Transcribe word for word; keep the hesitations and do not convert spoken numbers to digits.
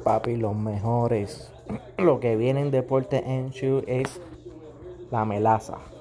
Papi, los mejores. Lo que viene en Deporte en Shoe es la melaza.